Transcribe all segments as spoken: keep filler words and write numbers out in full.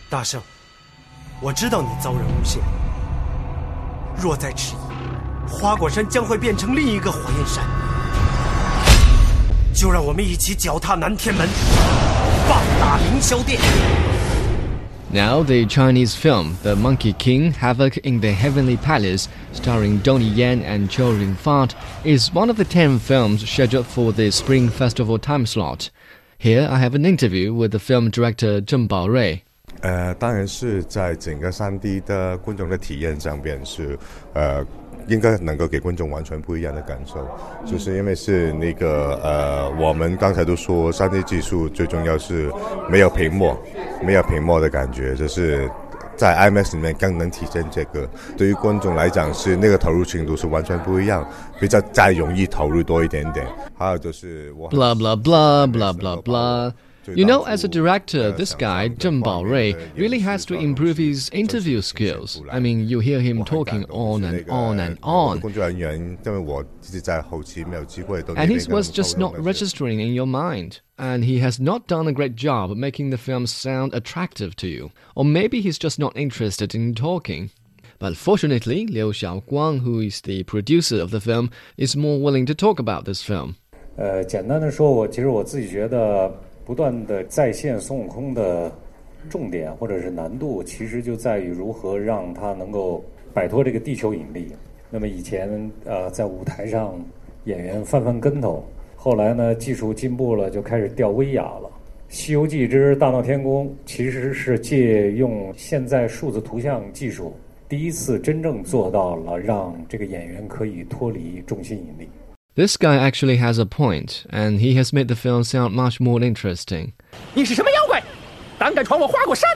大圣，我知道你遭人诬陷，若再迟疑，花果山将会变成另一个火焰山。就让我们一起脚踏南天门，棒打凌霄殿。 Now, the Chinese film The Monkey King: Havoc in the Heavenly Palace, starring Donnie Yen and Chow Yun-fat, is one of the ten films scheduled for the Spring Festival time slot. Here, I have an interview with the film director Zheng Baorui. 呃，当然是在整个 三 D 的观众的体验上边是，呃，应该能够给观众完全不一样的感受，就是因为是那个呃，我们刚才都说 三 D 技术最重要是没有屏幕，没有屏幕的感觉，就是在 IMAX 里面更能体现这个。对于观众来讲是那个投入程度是完全不一样，比较再容易投入多一点点。还有就是我 blah blah blah blah blah blah. You know, as a director, this guy, Zheng Baorui, really has to improve his interview skills. I mean, you hear him talking on and on and on. And his was just not registering in your mind. And he has not done a great job making the film sound attractive to you. Or maybe he's just not interested in talking. But fortunately, Liu Xiaoguang, who is the producer of the film, is more willing to talk about this film. 呃，简单的说，我其实我自己觉得不断的再现孙悟空的重点或者是难度，其实就在于如何让他能够摆脱这个地球引力。那么以前呃在舞台上演员翻翻跟头，后来呢技术进步了，就开始吊威亚了。西游记之大闹天宫其实是借用现在数字图像技术，第一次真正做到了让这个演员可以脱离重心引力。 This guy actually has a point, and he has made the film sound much more interesting. 你是什么妖怪？胆敢闯我花果山！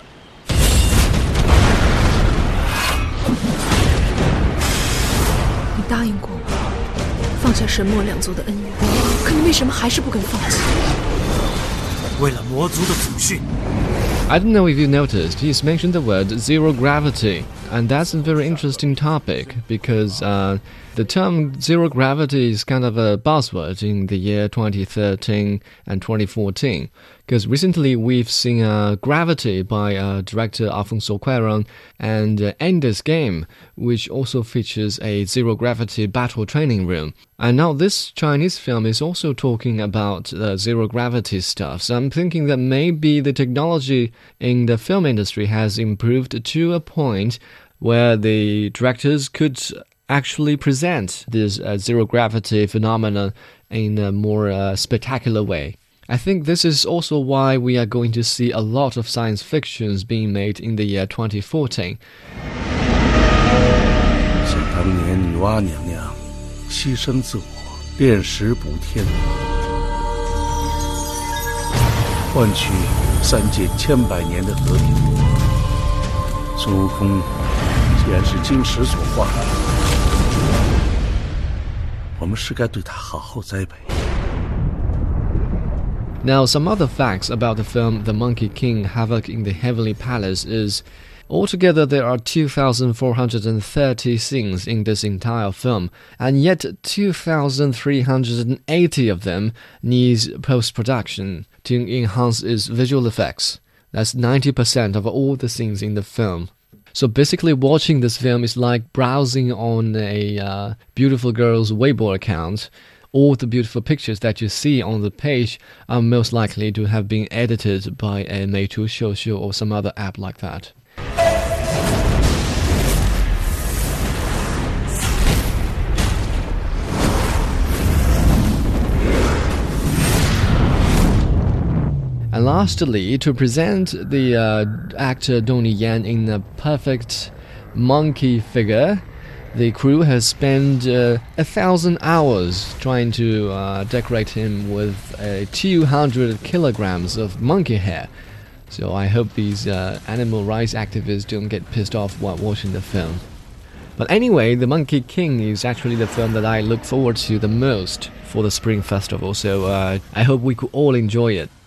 你答应过我放下神魔两族的恩怨，可你为什么还是不肯放弃？ 为了魔族的祖训。 I don't know if you noticed, he's mentioned the word zero gravity, and that's a very interesting topic because uh, the term zero gravity is kind of a buzzword in the year twenty thirteen and twenty fourteen. Because recently we've seen uh, Gravity by uh, director Alfonso Cuarón and uh, Ender's Game, which also features a zero-gravity battle training room. And now this Chinese film is also talking about uh, zero-gravity stuff. So I'm thinking that maybe the technology in the film industry has improved to a point where the directors could actually present this uh, zero-gravity phenomenon in a more uh, spectacular way. I think this is also why we are going to see a lot of science fictions being made in the year twenty fourteen. 想当年女娲娘娘牺牲自我，炼石补天，换取三界千百年的和平。孙悟空既然是金石所化，我们是该对他好好栽培。 Now, some other facts about the film The Monkey King: Havoc in the Heavenly Palace is, altogether there are two thousand four hundred thirty scenes in this entire film, and yet two thousand three hundred eighty of them needs post-production to enhance its visual effects. That's ninety percent of all the scenes in the film. So basically watching this film is like browsing on a uh, beautiful girl's Weibo account. All the beautiful pictures that you see on the page are most likely to have been edited by a Meitu Shouxiu or some other app like that. And lastly, to present the uh, actor Donnie Yen in a perfect monkey figure, the crew has spent uh, a thousand hours trying to uh, decorate him with uh, two hundred kilograms of monkey hair. So I hope these uh, animal rights activists don't get pissed off while watching the film. But anyway, The Monkey King is actually the film that I look forward to the most for the Spring Festival. So uh, I hope we could all enjoy it.